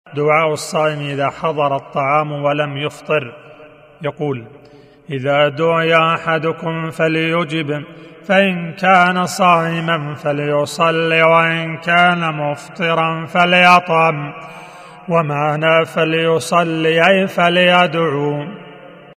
دعاء الصائم إذا حضر الطعام ولم يفطر. يقول: إذا دعي أحدكم فليجب، فإن كان صائما فليصلي، وإن كان مفطرا فليطعم. ومعنى فليصلي أي فليدعو.